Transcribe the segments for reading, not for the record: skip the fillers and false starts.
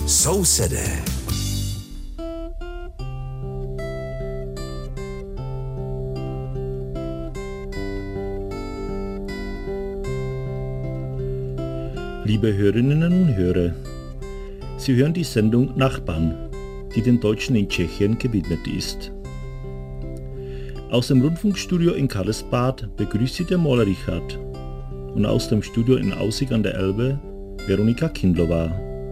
Sousedé. Liebe Hörerinnen und Hörer, Sie hören die Sendung Nachbarn, die den Deutschen in Tschechien gewidmet ist. Aus dem Rundfunkstudio in Karlsbad begrüßt Sie der Maler Richard und aus dem Studio in Aussig an der Elbe Veronika Kindlova.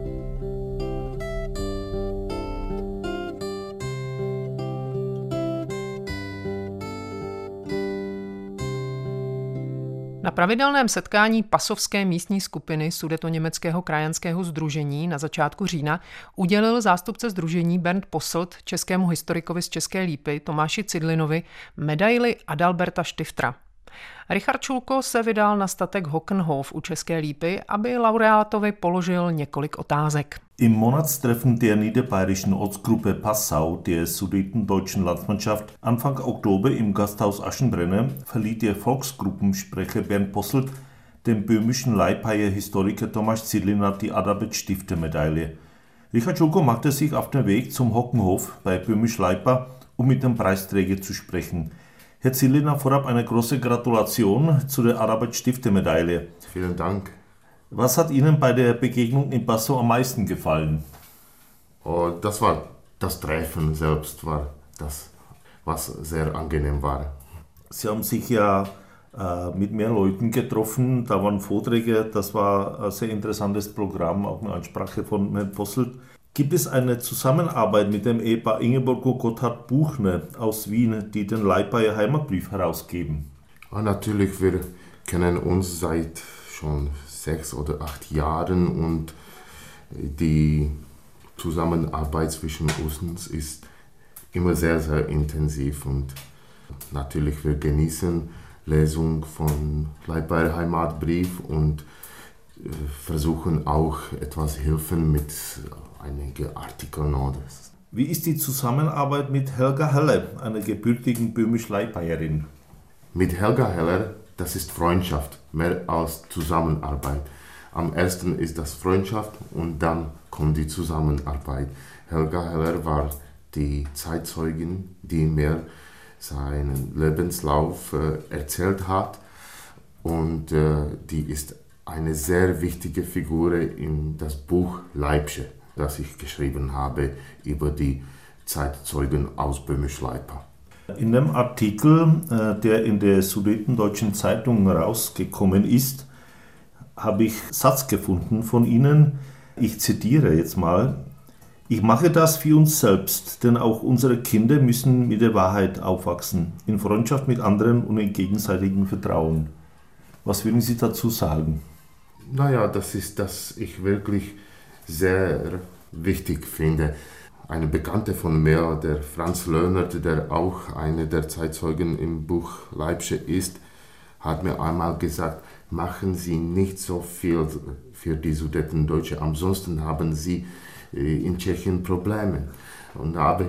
Na pravidelném setkání pasovské místní skupiny Sudetoněmeckého krajanského sdružení na začátku října udělil zástupce sdružení Bernd Posselt českému historikovi z České Lípy Tomáši Cidlinovi medaili Adalberta Stiftera. Richard Schulko se vydal na statek Hockenhof u České Lípy, aby laureátovi položil několik otázek. Im Monatstreffen der niederbayerischen Ortsgruppe Passau der Sudetendeutschen Landsmannschaft Anfang Oktober im Gasthaus Aschenbrenner verlieh der Volksgruppensprecher Bernd Posselt dem böhmischen Leipheier-Historiker Tomáš Cidlina die Adalbert-Stifter-Medaille. Richard Schulko machte sich auf den Weg zum Hockenhof bei Böhmisch Leipa, um mit dem Preisträger zu sprechen. Herr Cidlina, vorab eine große Gratulation zu der Adalbert-Stifter-Medaille. Vielen Dank. Was hat Ihnen bei der Begegnung in Passau am meisten gefallen? Das war das Treffen selbst, war das, was sehr angenehm war. Sie haben sich ja mit mehr Leuten getroffen, da waren Vorträge, das war ein sehr interessantes Programm, auch eine Ansprache von Herrn Posselt. Gibt es eine Zusammenarbeit mit dem Ehepaar Ingeborg und Gotthard Buchner aus Wien, die den Leipheier Heimatbrief herausgeben? Natürlich, wir kennen uns seit schon 6 oder 8 Jahren und die Zusammenarbeit zwischen uns ist immer sehr, sehr intensiv und natürlich wir genießen Lesung von Leipheier Heimatbrief und versuchen auch etwas helfen mit einigen Artikeln. Wie ist die Zusammenarbeit mit Helga Heller, einer gebürtigen Böhmisch-Leipheierin? Mit Helga Heller, das ist Freundschaft, mehr als Zusammenarbeit. Am ersten ist das Freundschaft und dann kommt die Zusammenarbeit. Helga Heller war die Zeitzeugin, die mir seinen Lebenslauf erzählt hat und die ist eine sehr wichtige Figur in das Buch Leipsche, das ich geschrieben habe über die Zeitzeugen aus Böhmisch-Leipa. In dem Artikel, der in der Sudetendeutschen Zeitung rausgekommen ist, habe ich einen Satz gefunden von Ihnen. Ich zitiere jetzt mal. Ich mache das für uns selbst, denn auch unsere Kinder müssen mit der Wahrheit aufwachsen, in Freundschaft mit anderen und in gegenseitigem Vertrauen. Was würden Sie dazu sagen? Naja, das ist, das ich wirklich sehr wichtig finde. Eine Bekannte von mir, der Franz Löhnert, der auch einer der Zeitzeugen im Buch Leipsche ist, hat mir einmal gesagt, machen Sie nicht so viel für die Sudetendeutsche, ansonsten haben Sie in Tschechien Probleme. Und habe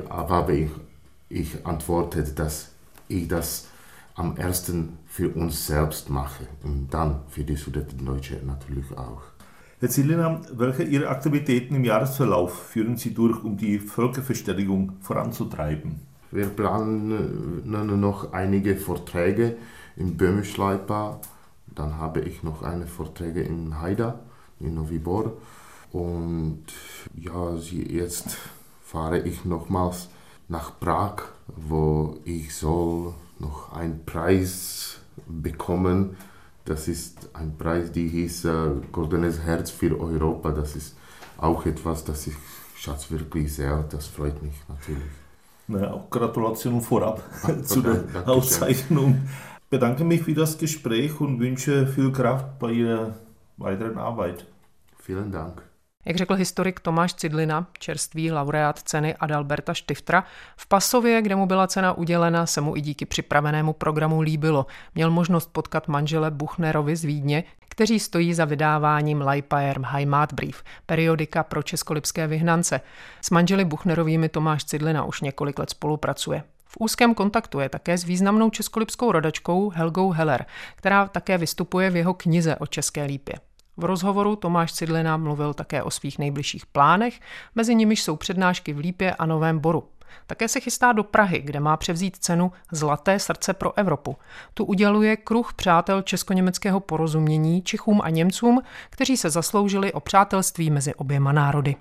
ich antwortet, dass ich das am ersten für uns selbst mache und dann für die Sudetendeutsche natürlich auch. Herr Cidlina, welche Ihrer Aktivitäten im Jahresverlauf führen Sie durch, um die Völkerverständigung voranzutreiben? Wir planen noch einige Vorträge in Böhmisch-Leipa. Dann habe ich noch eine Vorträge in Haida, in Novi Bor. Und ja, jetzt fahre ich nochmals nach Prag, wo ich soll noch einen Preis bekommen. Das ist ein Preis, die hieß Goldenes Herz für Europa. Das ist auch etwas, das ich schätze wirklich sehr. Das freut mich natürlich. Na, auch Gratulation vorab zu der Auszeichnung. Ich bedanke mich für das Gespräch und wünsche viel Kraft bei Ihrer weiteren Arbeit. Vielen Dank. Jak řekl historik Tomáš Cidlina, čerstvý laureát ceny Adalberta Stiftera, v Passově, kde mu byla cena udělena, se mu i díky připravenému programu líbilo. Měl možnost potkat manžele Buchnerovi z Vídně, kteří stojí za vydáváním Leipheier Heimatbrief, periodika pro českolipské vyhnance. S manželi Buchnerovými Tomáš Cidlina už několik let spolupracuje. V úzkém kontaktu je také s významnou českolipskou rodačkou Helgou Heller, která také vystupuje v jeho knize o České Lípě. V rozhovoru Tomáš Cidlina mluvil také o svých nejbližších plánech, mezi nimiž jsou přednášky v Lípě a Novém Boru. Také se chystá do Prahy, kde má převzít cenu Zlaté srdce pro Evropu. Tu uděluje kruh přátel česko-německého porozumění Čechům a Němcům, kteří se zasloužili o přátelství mezi oběma národy.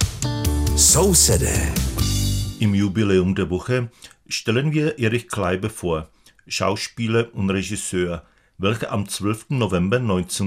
Sousedé. Im Jubiläum der Woche stellen wir Erich Kleiber vor, Schauspieler und Regisseur, welcher am 12. November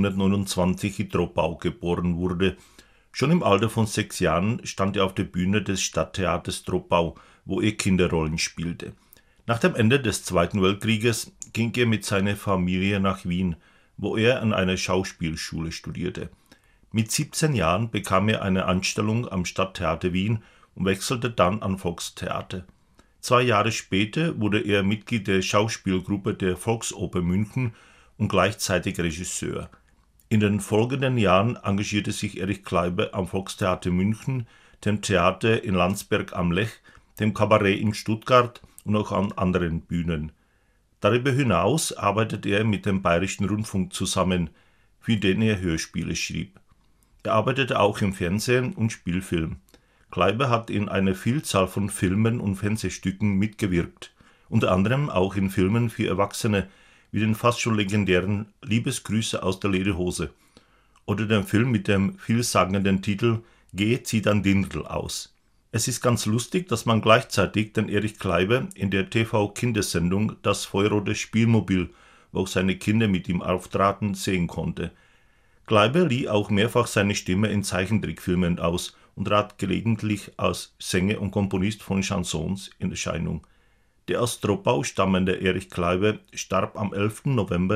1929 in Troppau geboren wurde. Schon im Alter von 6 Jahren stand er auf der Bühne des Stadttheaters Troppau, wo er Kinderrollen spielte. Nach dem Ende des Zweiten Weltkrieges ging er mit seiner Familie nach Wien, wo er an einer Schauspielschule studierte. Mit 17 Jahren bekam er eine Anstellung am Stadttheater Wien und wechselte dann an Volkstheater. 2 Jahre später wurde er Mitglied der Schauspielgruppe der Volksoper München und gleichzeitig Regisseur. In den folgenden Jahren engagierte sich Erich Kleiber am Volkstheater München, dem Theater in Landsberg am Lech, dem Kabarett in Stuttgart und auch an anderen Bühnen. Darüber hinaus arbeitete er mit dem Bayerischen Rundfunk zusammen, für den er Hörspiele schrieb. Er arbeitete auch im Fernsehen und Spielfilm. Kleiber hat in einer Vielzahl von Filmen und Fernsehstücken mitgewirkt, unter anderem auch in Filmen für Erwachsene, wie den fast schon legendären Liebesgrüße aus der Lederhose oder den Film mit dem vielsagenden Titel Geh, zieh dein Dirndl aus. Es ist ganz lustig, dass man gleichzeitig den Erich Kleiber in der TV-Kindersendung Das Feuerrote Spielmobil, wo auch seine Kinder mit ihm auftraten, sehen konnte. Kleiber lieh auch mehrfach seine Stimme in Zeichentrickfilmen aus und trat gelegentlich als Sänger und Komponist von Chansons in Erscheinung. Der aus Troppau stammende Erich Kleiber starb am 11. November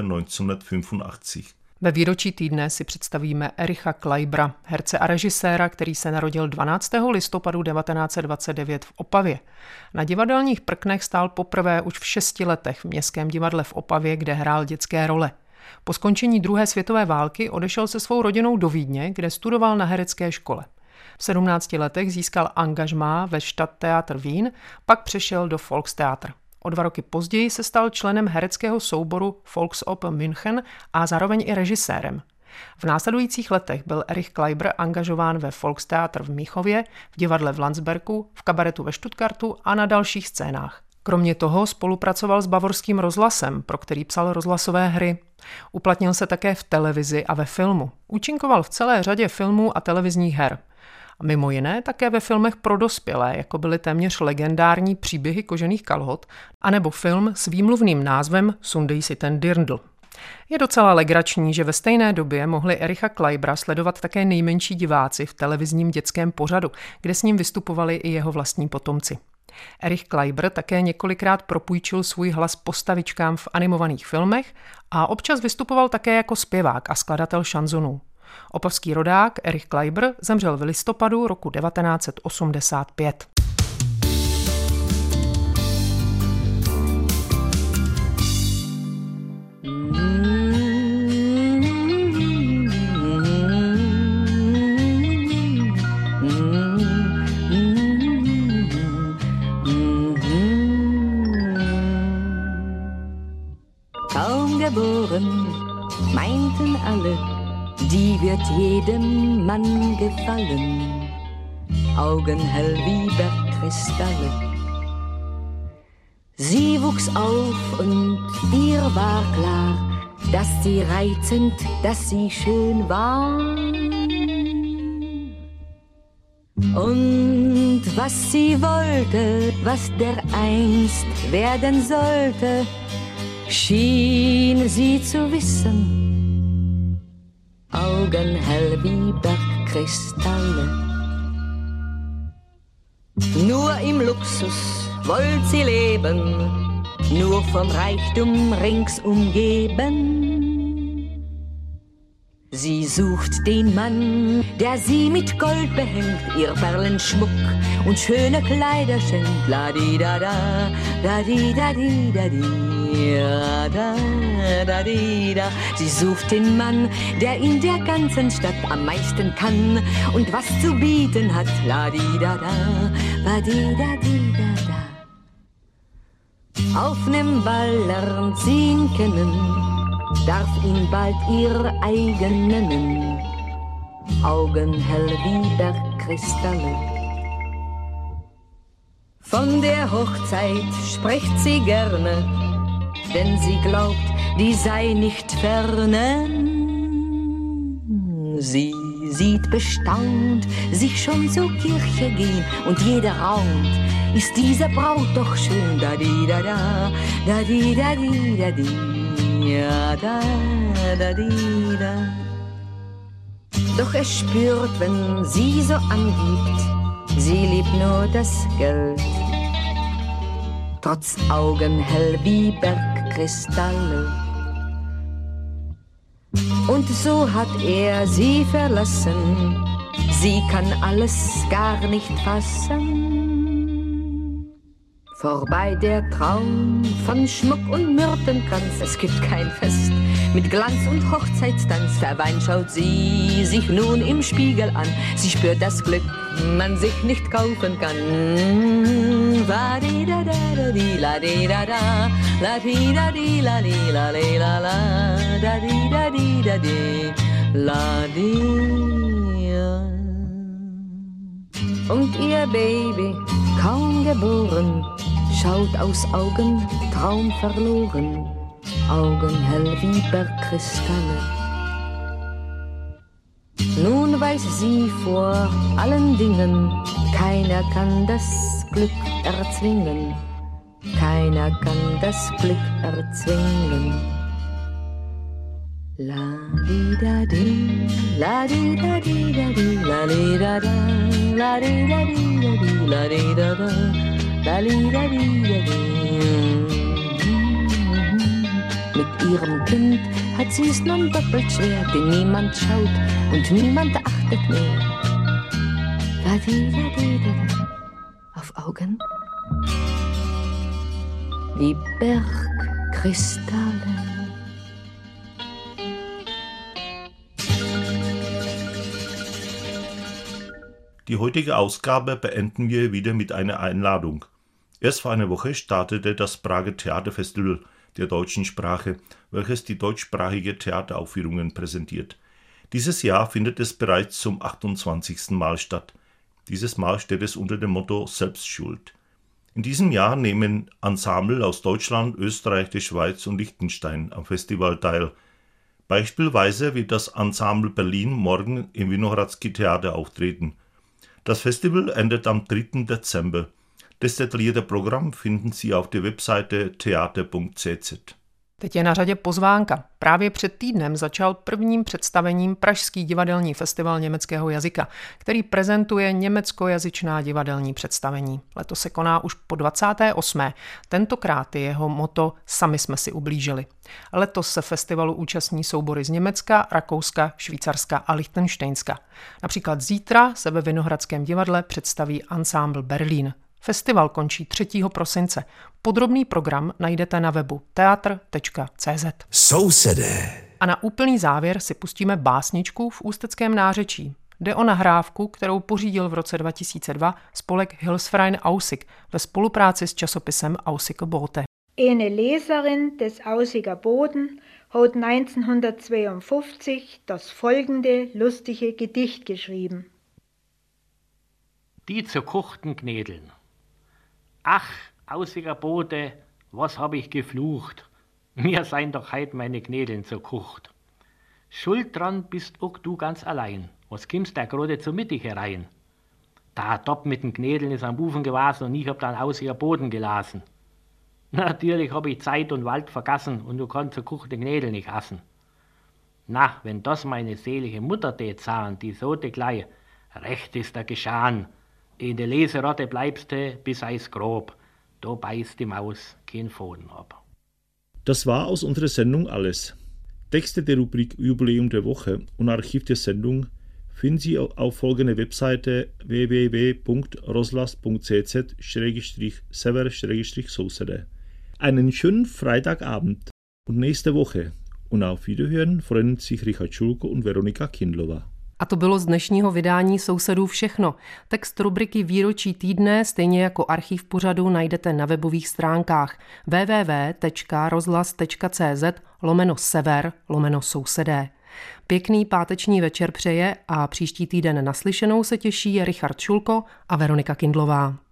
1985. Ve výročí týdne si představíme Ericha Kleibera, herce a režiséra, který se narodil 12. listopadu 1929 v Opavě. Na divadelních prknech stál poprvé už v 6 letech v Městském divadle v Opavě, kde hrál dětské role. Po skončení druhé světové války odešel se svou rodinou do Vídně, kde studoval na herecké škole. V 17 letech získal angažmá ve Stadttheater Wien, pak přešel do Volkstheater. O 2 roky později se stal členem hereckého souboru Volksoper München a zároveň i režisérem. V následujících letech byl Erich Kleiber angažován ve Volkstheater v Mnichově, v divadle v Landsbergu, v kabaretu ve Stuttgartu a na dalších scénách. Kromě toho spolupracoval s Bavorským rozhlasem, pro který psal rozhlasové hry. Uplatnil se také v televizi a ve filmu. Účinkoval v celé řadě filmů a televizních her. A mimo jiné také ve filmech pro dospělé, jako byly téměř legendární Příběhy kožených kalhot, anebo film s výmluvným názvem Sundej si ten dirndl. Je docela legrační, že ve stejné době mohli Ericha Kleibera sledovat také nejmenší diváci v televizním dětském pořadu, kde s ním vystupovali i jeho vlastní potomci. Erich Kleiber také několikrát propůjčil svůj hlas postavičkám v animovaných filmech a občas vystupoval také jako zpěvák a skladatel šanzonů. Opavský rodák Erich Kleiber zemřel v listopadu roku 1985. Kaum geboren, meinten alle, die wird jedem Mann gefallen, Augen hell wie Bergkristalle. Sie wuchs auf und ihr war klar, dass sie reizend, dass sie schön war. Und was sie wollte, was dereinst werden sollte, schien sie zu wissen. Augen hell wie Bergkristalle. Nur im Luxus wollt sie leben, nur vom Reichtum rings umgeben. Sie sucht den Mann, der sie mit Gold behängt, ihr Perlenschmuck und schöne Kleider schenkt. La-di-da-da, da-di-da-di-da-di, da-da-da-di-da. Sie sucht den Mann, der in der ganzen Stadt am meisten kann und was zu bieten hat. La-di-da-da, da-di-da-di-da-da. Auf nem Ball lernt sie ihn kennen, darf ihn bald ihr eigen nennen. Augen hell wie Bergkristalle. Von der Hochzeit spricht sie gerne, denn sie glaubt, die sei nicht ferne. Sie sieht bestaunt sich schon zur Kirche gehen und jeder raunt, ist diese Braut doch schön, da di da da, da di da di da di, ja da di da. Doch er spürt, wenn sie so angibt, sie liebt nur das Geld. Trotz Augen hell wie Bergkristalle. Und so hat er sie verlassen, sie kann alles gar nicht fassen. Vorbei der Traum von Schmuck und Myrtenkranz, es gibt kein Fest mit Glanz und Hochzeitstanz. Verweint schaut sie sich nun im Spiegel an, sie spürt das Glück, man sich nicht kaufen kann. La di da da di la di da da, la di da di la di la di la la, da di da di la di. Und ihr Baby, kaum geboren, schaut aus Augen traumverloren, Augen hell wie Bergkristalle. Nun weiß sie vor allen Dingen, keiner kann das Glück erzwingen, keiner kann das Glück erzwingen. La di da di, la di da di da di, la di da da, la di da di da di, la di da da, la di da di da di. Mit ihrem Kind hat sie es nun doppelt schwer, denn niemand schaut und niemand achtet mehr. La di da di da da, auf Augen wie Bergkristalle. Die heutige Ausgabe beenden wir wieder mit einer Einladung. Erst vor einer Woche startete das Prager Theaterfestival der deutschen Sprache, welches die deutschsprachige Theateraufführungen präsentiert. Dieses Jahr findet es bereits zum 28. Mal statt. Dieses Mal steht es unter dem Motto Selbstschuld. In diesem Jahr nehmen Ensemble aus Deutschland, Österreich, der Schweiz und Liechtenstein am Festival teil. Beispielsweise wird das Ensemble Berlin morgen im Winohradski Theater auftreten. Das Festival endet am 3. Dezember. Das detaillierte Programm finden Sie auf der Webseite theater.cz. Teď je na řadě pozvánka. Právě před týdnem začal prvním představením Pražský divadelní festival německého jazyka, který prezentuje německojazyčná divadelní představení. Letos se koná už po 28. Tentokrát je jeho motto Sami jsme si ublížili. Letos se festivalu účastní soubory z Německa, Rakouska, Švýcarska a Lichtenštejnska. Například zítra se ve Vinohradském divadle představí Ensemble Berlin. Festival končí 3. prosince. Podrobný program najdete na webu teatr.cz. Sousedé. A na úplný závěr si pustíme básničku v ústeckém nářečí. Jde o nahrávku, kterou pořídil v roce 2002 spolek Hilfsverein Aussig ve spolupráci s časopisem Aussiger Bote. Eine Leserin des Aussiger Boten hat 1952 das folgende lustige Gedicht geschrieben. Die zerkochten Knädeln. Ach, Aussiger Bote, was hab ich geflucht? Mir seien doch heut meine Knädeln zerkocht. Schuld dran bist auch du ganz allein. Was kimmst da gerade zur Mittag herein? Da Dopp mit den Knädeln ist am Bufen gewesen und ich hab dann Aussiger Boden gelassen. Natürlich hab ich Zeit und Wald vergassen und du kannst zerkochte Knädel nicht essen. Na, wenn das meine selige Mutter tät sahen, die so de gleich, recht ist da geschahn. In der Leserotte bleibst du bis eis grob. Da beißt die Maus kein Faden ab. Das war aus unserer Sendung alles. Texte der Rubrik Jubiläum der Woche und Archiv der Sendung finden Sie auf folgender Webseite www.roslas.cz/sever/sousede. Einen schönen Freitagabend und nächste Woche. Und auf Wiederhören freuen sich Richard Schulko und Veronika Kindlova. A to bylo z dnešního vydání Sousedů všechno. Text rubriky Výročí týdne, stejně jako archiv pořadu, najdete na webových stránkách www.rozhlas.cz/sever/sousedé. Pěkný páteční večer přeje a příští týden naslyšenou se těší Richard Šulko a Veronika Kindlová.